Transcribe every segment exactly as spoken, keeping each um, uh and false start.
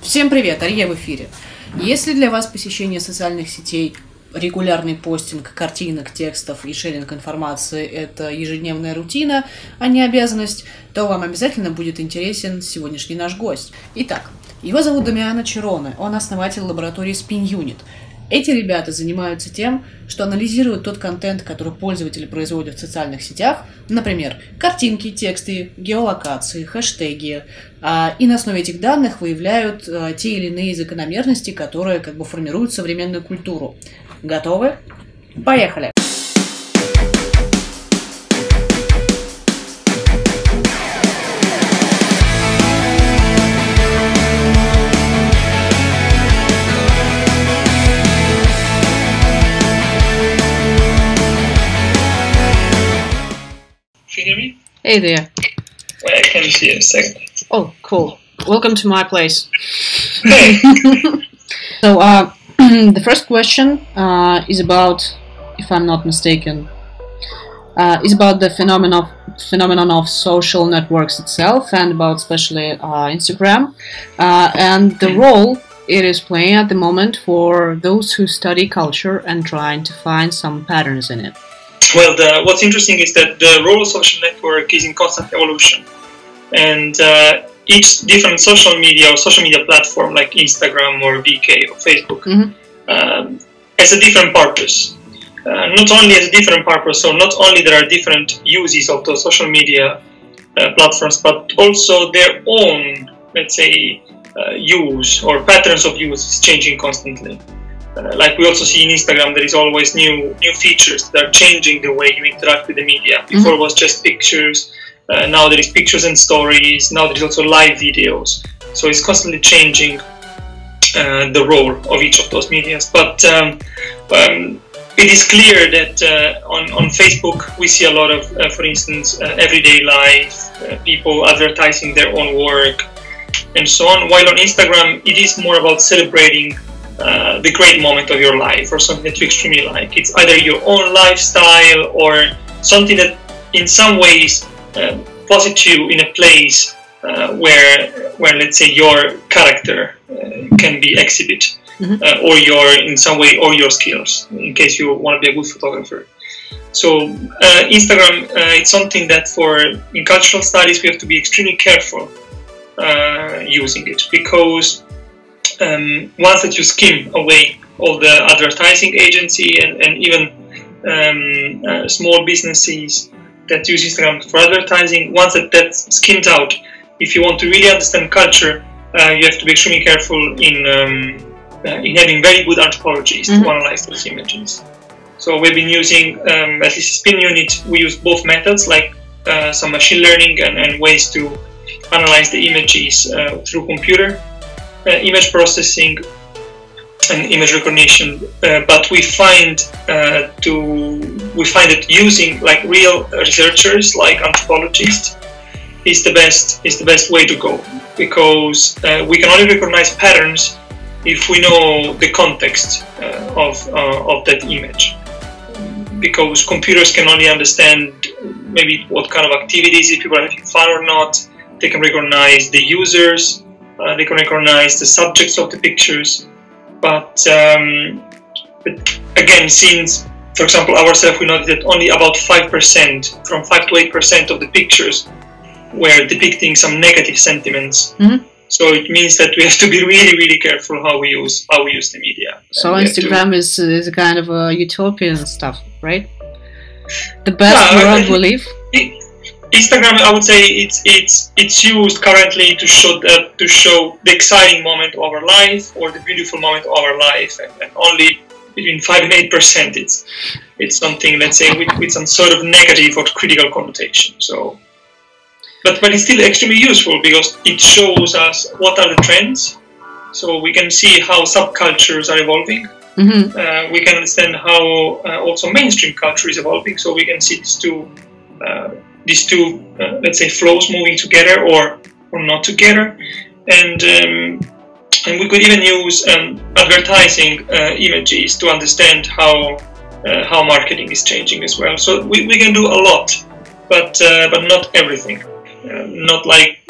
Всем привет, Ария в эфире. Если для вас посещение социальных сетей, регулярный постинг картинок, текстов и шеринг информации – это ежедневная рутина, а не обязанность, то вам обязательно будет интересен сегодняшний наш гость. Итак, его зовут Дамиано Чероне, он основатель лаборатории Spin Unit. Эти ребята занимаются тем, что анализируют тот контент, который пользователи производят в социальных сетях, например, картинки, тексты, геолокации, хэштеги, и на основе этих данных выявляют те или иные закономерности, которые как бы формируют современную культуру. Готовы? Поехали! Can you hear me? Hey there. Wait, I can't see it a second. Oh, cool. Welcome to my place. Hey. So, uh, the first question uh, is about, if I'm not mistaken, uh, is about the phenomenon of, phenomenon of social networks itself and about especially uh, Instagram uh, and the role it is playing at the moment for those who study culture and trying to find some patterns in it. Well, the, what's interesting is that the role of social network is in constant evolution, and uh, each different social media or social media platform like Instagram or V K or Facebook Mm-hmm. um, has a different purpose. Uh, not only has a different purpose, so not only there are different uses of those social media uh, platforms, but also their own, let's say, uh, use or patterns of use is changing constantly. Uh, like we also see in Instagram, there is always new new features that are changing the way you interact with the media. Before Mm-hmm. it was just pictures, uh, now there is pictures and stories, now there is also live videos. So it's constantly changing uh, the role of each of those medias. But um, um, it is clear that uh, on, on Facebook we see a lot of, uh, for instance, uh, everyday life, uh, people advertising their own work and so on. While on Instagram it is more about celebrating Uh, the great moment of your life or something that you extremely like. It's either your own lifestyle or something that in some ways uh, puts you in a place uh, where, where let's say your character uh, can be exhibited, Mm-hmm. uh, or your in some way or your skills in case you want to be a good photographer. So uh, Instagram uh, it's something that for in cultural studies we have to be extremely careful uh, using it, because Um, once that you skim away all the advertising agency and, and even um, uh, small businesses that use Instagram for advertising, once that that's skimmed out, if you want to really understand culture, uh, you have to be extremely careful in um, uh, in having very good anthropologists Mm-hmm. to analyze those images. So we've been using, um, at least Spin Unit, we use both methods, like uh, some machine learning and, and ways to analyze the images uh, through computer Uh, image processing and image recognition, uh, but we find uh, to we find that using like real researchers, like anthropologists, is the best is the best way to go, because uh, we can only recognize patterns if we know the context uh, of uh, of that image, because computers can only understand maybe what kind of activities, if people are having fun or not. They can recognize the users. Uh, they can recognize the subjects of the pictures, but, um, but again, since, for example, ourselves, we noticed that only about five percent, from five to eight percent of the pictures were depicting some negative sentiments. Mm-hmm. So it means that we have to be really, really careful how we use how we use the media. So And we have Instagram to- is is a kind of a utopian stuff, right? The best Yeah, world I- we live. Instagram, I would say it's it's it's used currently to show the, to show the exciting moment of our life or the beautiful moment of our life, and, and only between five and eight percent it's it's something, let's say, with, with some sort of negative or critical connotation. So, but but it's still extremely useful because it shows us what are the trends, so we can see how subcultures are evolving. Mm-hmm. Uh, we can understand how uh, also mainstream culture is evolving, so we can see these two. Uh, these two, uh, let's say, flows moving together or or not together, and um, and we could even use um, advertising uh, images to understand how uh, how marketing is changing as well. So we, we can do a lot, but uh, but not everything. Uh, not like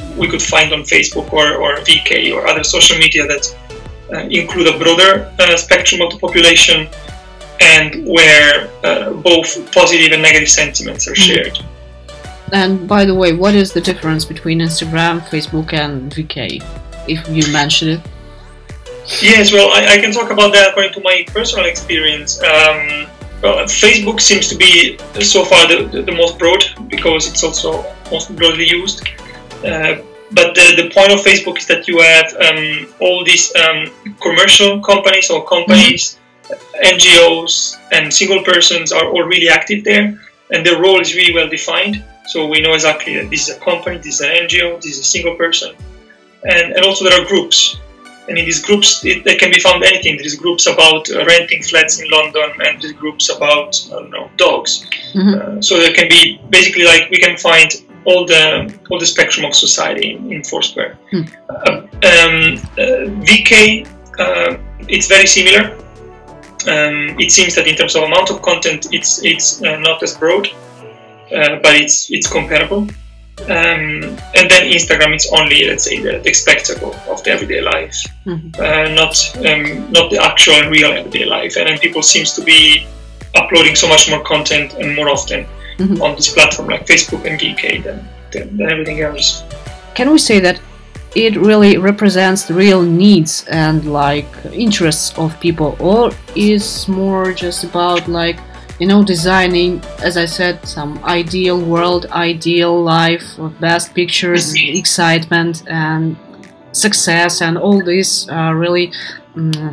we could find on Facebook or, or V K or other social media that uh, include a broader uh, spectrum of the population, and where uh, both positive and negative sentiments are shared. And by the way, what is the difference between Instagram, Facebook, and V K, if you mention it? Yes, well, I, I can talk about that according to my personal experience. Um, well, Facebook seems to be so far the, the, the most broad, because it's also most broadly used. Uh, but the, the point of Facebook is that you have um, all these um, commercial companies or companies, mm-hmm. N G Os, and single persons are all really active there, and their role is really well defined. So we know exactly that this is a company, this is an N G O, this is a single person. And, and also there are groups. And in these groups, it, there can be found anything. There is groups about uh, renting flats in London, and there is groups about, I don't know, dogs. Mm-hmm. Uh, so there can be, basically, like, we can find all the all the spectrum of society in, in Foursquare. Mm. Uh, um, uh, V K, uh, it's very similar. Um, it seems that in terms of amount of content, it's it's uh, not as broad, uh, but it's it's comparable. Um, and then Instagram, it's only, let's say, the, the spectacle of the everyday life, mm-hmm. uh, not um, not the actual and real everyday life. And then people seems to be uploading so much more content and more often mm-hmm. on this platform like Facebook and V K than, than, than everything else. Can we say that it really represents the real needs and like interests of people, or is more just about like, you know, designing, as I said, some ideal world, ideal life, best pictures, excitement and success, and all these uh, really um,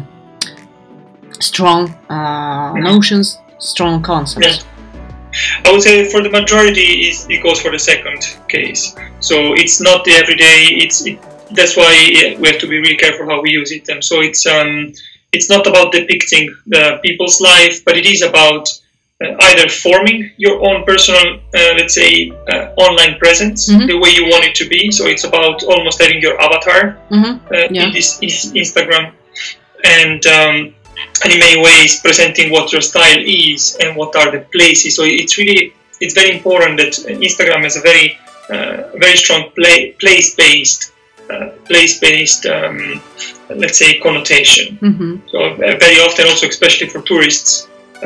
strong uh, notions, strong concepts? Yeah. I would say for the majority, it goes for the second case. So it's not the everyday. It's it, that's why we have to be really careful how we use it. And so it's um, it's not about depicting the people's life, but it is about Uh, either forming your own personal, uh, let's say, uh, online presence, mm-hmm. the way you want it to be. So it's about almost having your avatar mm-hmm. uh, yeah. in this is Instagram, and um, and in many ways presenting what your style is and what are the places. So it's really it's very important that Instagram has a very uh, very strong play, place-based uh, place-based um, let's say connotation. Mm-hmm. So uh, very often, also especially for tourists.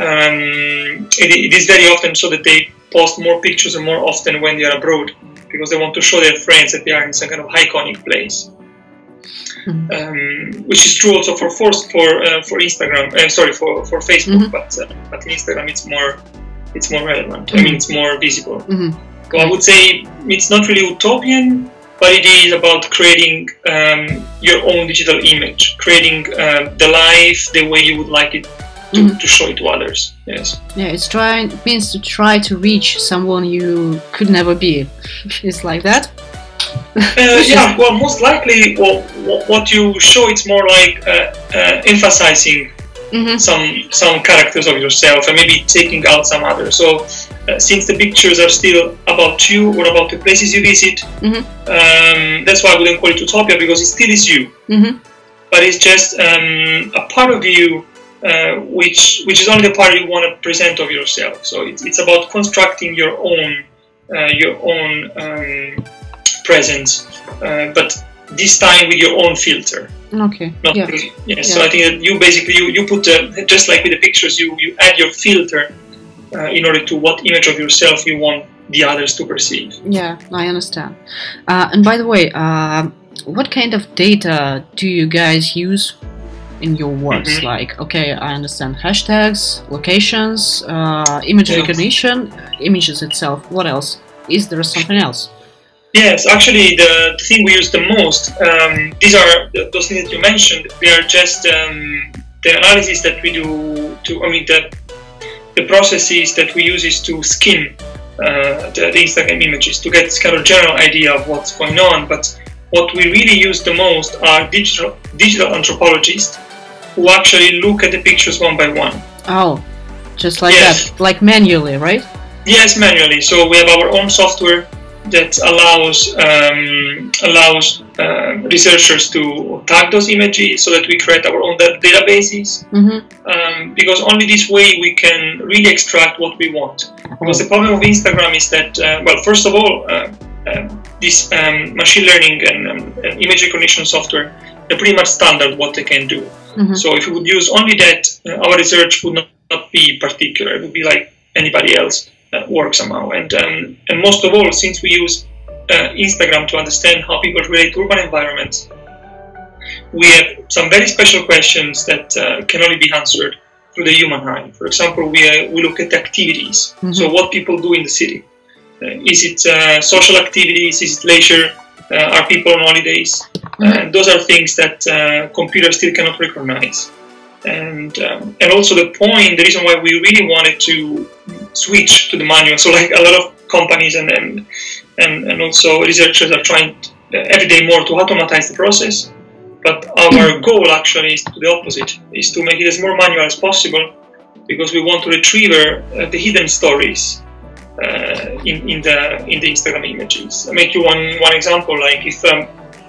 Um, it, it is very often so that they post more pictures and more often when they are abroad, because they want to show their friends that they are in some kind of iconic place. Mm-hmm. Um, which is true also for for for, uh, for Instagram. Uh, sorry, for for Facebook, mm-hmm. but uh, but in Instagram it's more it's more relevant. Mm-hmm. I mean, it's more visible. Mm-hmm. So I would say it's not really utopian, but it is about creating um, your own digital image, creating uh, the life the way you would like it. To, mm-hmm. to show it to others. Yes. Yeah, it's trying it means to try to reach someone you could never be. It's like that. uh, yeah. Well, most likely, well, what you show, it's more like uh, uh, emphasizing mm-hmm. some some characters of yourself and maybe taking out some others. So, uh, since the pictures are still about you or about the places you visit, mm-hmm. um, that's why I wouldn't call it utopia, because it still is you. Mm-hmm. But it's just um, a part of you. Uh, which which is only the part you want to present of yourself. So it, it's about constructing your own uh, your own um, presence, uh, but this time with your own filter. Okay. Not yeah. Really, yeah, yeah. So I think that you basically you, you put uh, just like with the pictures, you you add your filter uh, in order to what image of yourself you want the others to perceive. Yeah, I understand. Uh, and by the way, uh, what kind of data do you guys use in your works? Mm-hmm. Like, okay, I understand hashtags, locations, uh, image yes. recognition, images itself. What else? Is there something else? Yes, actually, the, the thing we use the most, um, these are the, those things that you mentioned. They are just um, the analysis that we do. To I mean, the the processes that we use is to skim uh, the, the Instagram images to get this kind of general idea of what's going on. But what we really use the most are digital digital anthropologists, who actually look at the pictures one by one. Oh, just like yes. that, like manually, right? Yes, manually. So we have our own software that allows um, allows uh, researchers to tag those images, so that we create our own databases. Mm-hmm. Um, because only this way we can really extract what we want. Because the problem of Instagram is that, uh, well, first of all, uh, uh, this um, machine learning and, um, and image recognition software, they're pretty much standard what they can do. Mm-hmm. So if we would use only that, uh, our research would not, not be particular. It would be like anybody else uh, work somehow. And um, and most of all, since we use uh, Instagram to understand how people relate to urban environments, we have some very special questions that uh, can only be answered through the human eye. For example, we uh, we look at activities. Mm-hmm. So what people do in the city. Uh, is it uh, social activities? Is it leisure? Uh, are people on holidays? Mm-hmm. And those are things that uh, computers still cannot recognize. And um, and also the point, the reason why we really wanted to switch to the manual. So like a lot of companies and and, and, and also researchers are trying to, uh, every day more to automatize the process. But our goal actually is to the opposite, is to make it as more manual as possible, because we want to retrieve uh, the hidden stories uh, in, in the in the Instagram images. I'll make you one one example. Like if um,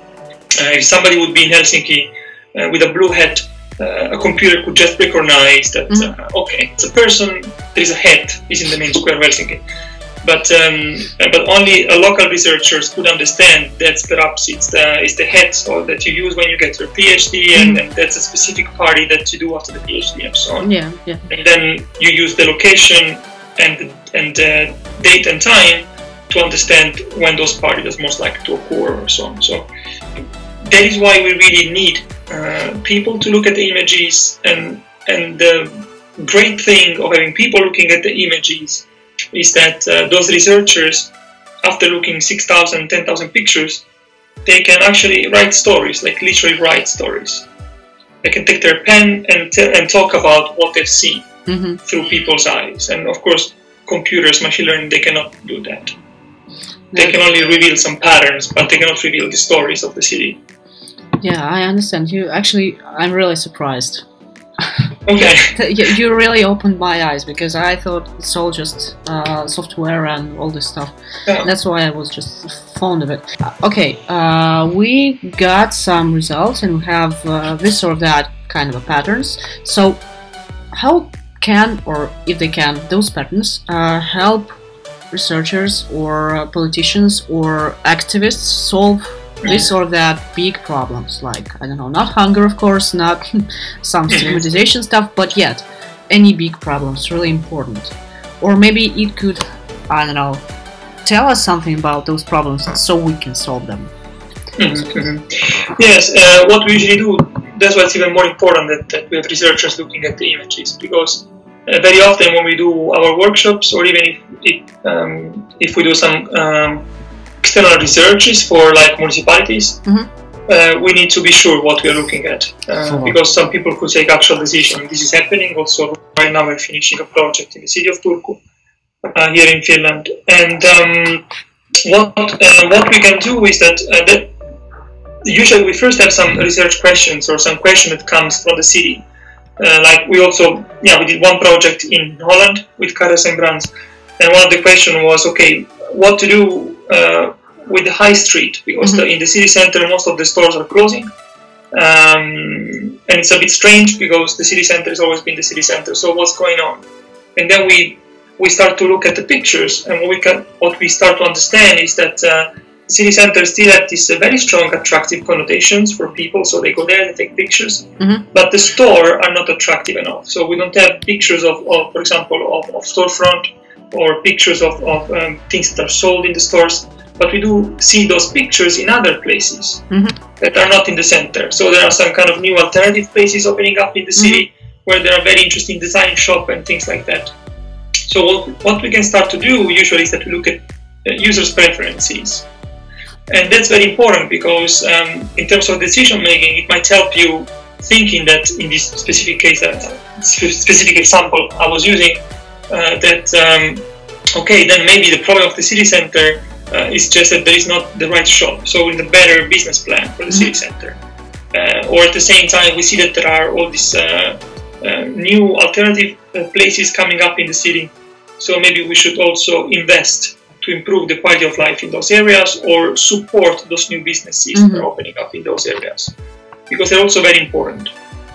uh, if somebody would be in Helsinki uh, with a blue hat, uh, a computer could just recognize that mm-hmm. uh, okay, it's a person. There is a hat. Is in the main square of Helsinki. But um, but only a local researchers could understand that perhaps it's the it's the hat so that you use when you get your PhD, and, and that's a specific party that you do after the PhD and so on. Yeah, yeah. And then you use the location and and uh, date and time to understand when those parties are most likely to occur or so on. So that is why we really need uh, people to look at the images, and and the great thing of having people looking at the images is that uh, those researchers, after looking six thousand, ten thousand pictures, they can actually write stories, like literally write stories. They can take their pen and t- and talk about what they've seen mm-hmm. through people's eyes. And of course, computers, machine learning, they cannot do that. They can only reveal some patterns, but they cannot reveal the stories of the city. Yeah, I understand. You actually, I'm really surprised. Okay. You really opened my eyes, because I thought it's all just uh, software and all this stuff. Yeah. That's why I was just fond of it. Okay, uh, we got some results and we have uh, this or that kind of a patterns. So how can, or if they can, those patterns uh, help researchers or uh, politicians or activists solve this or that big problems, like, I don't know, not hunger, of course, not some stigmatization stuff, but yet, any big problems, really important. Or maybe it could, I don't know, tell us something about those problems so we can solve them. Mm-hmm. Yes, uh, what we usually do, that's why it's even more important that, that we have researchers looking at the images, because uh, very often when we do our workshops, or even if, if, um, if we do some um, external researches for like municipalities, mm-hmm. uh, we need to be sure what we are looking at, uh, sure. because some people could take actual decision. This is happening also right now. We're finishing a project in the city of Turku, uh, here in Finland, and um, what uh, what we can do is that, uh, that usually we first have some research questions or some question that comes from the city. Uh, like we also, yeah, we did one project in Holland with Caras en Brands, and one of the questions was, okay, what to do Uh, with the high street, because mm-hmm. the, in the city center most of the stores are closing, um, and it's a bit strange because the city center has always been the city center. So what's going on? And then we we start to look at the pictures, and what we can what we start to understand is that uh, the city center still have these uh, very strong attractive connotations for people, so they go there and take pictures. Mm-hmm. But the store are not attractive enough, so we don't have pictures of, of for example, of, of storefront, or pictures of, of um, things that are sold in the stores, but we do see those pictures in other places mm-hmm. that are not in the center. So there are some kind of new alternative places opening up in the city mm-hmm. where there are very interesting design shop and things like that. So what, what we can start to do usually is that we look at uh, users' preferences. And that's very important because um, in terms of decision making, it might help you thinking that in this specific case, uh, specific example I was using, Uh, that um, okay, then maybe the problem of the city center uh, is just that there is not the right shop, so we need a better business plan for the mm-hmm. city center. Uh, or at the same time, we see that there are all these uh, uh, new alternative uh, places coming up in the city, so maybe we should also invest to improve the quality of life in those areas, or support those new businesses mm-hmm. that are opening up in those areas, because they're also very important.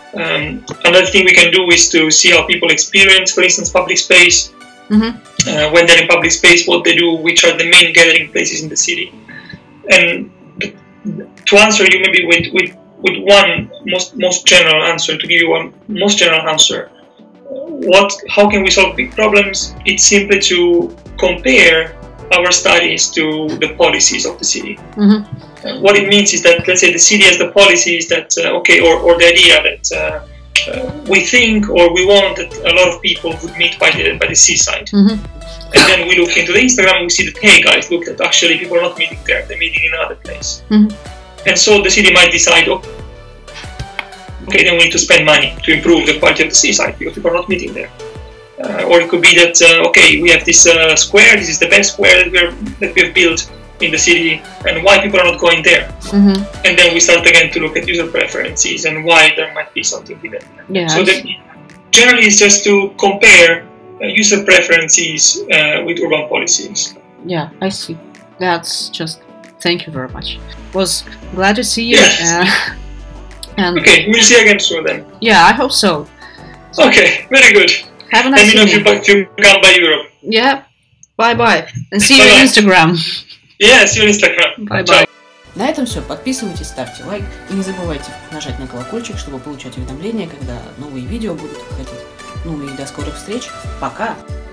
Um, another thing we can do is to see how people experience, for instance, public space. Mm-hmm. Uh, when they're in public space, what they do, which are the main gathering places in the city. and to answer you maybe with, with, with one most most general answer, to give you one most general answer, what how can we solve big problems? It's simply to compare our studies to the policies of the city. Mm-hmm. Uh, what it means is that, let's say, the city has the policies that, uh, okay, or, or the idea that uh, uh, we think or we want that a lot of people would meet by the by the seaside. Mm-hmm. And then we look into the Instagram and we see that, hey guys, look, that actually people are not meeting there, they're meeting in another place. Mm-hmm. And so the city might decide, oh, okay, then we need to spend money to improve the quality of the seaside because people are not meeting there. Uh, or it could be that, uh, okay, we have this uh, square, this is the best square that, we're, that we have built in the city, and why people are not going there. Mm-hmm. And then we start again to look at user preferences and why there might be something hidden. Yeah, so that generally it's just to compare uh, user preferences uh, with urban policies. Yeah, I see. That's just, thank you very much. Was glad to see you. Yes. Uh, and Okay, we'll see you again soon then. yeah, I hope so. Okay, very good. Have a Let nice me know if you, evening. if you come by Europe. Yeah, bye bye. And see you on Bye-bye. Instagram. Yeah, see you on Instagram. Bye Ciao. bye. На этом все. Подписывайтесь, ставьте лайк и не забывайте нажать на колокольчик, чтобы получать уведомления, когда новые видео будут выходить. Ну и до скорых встреч. Пока!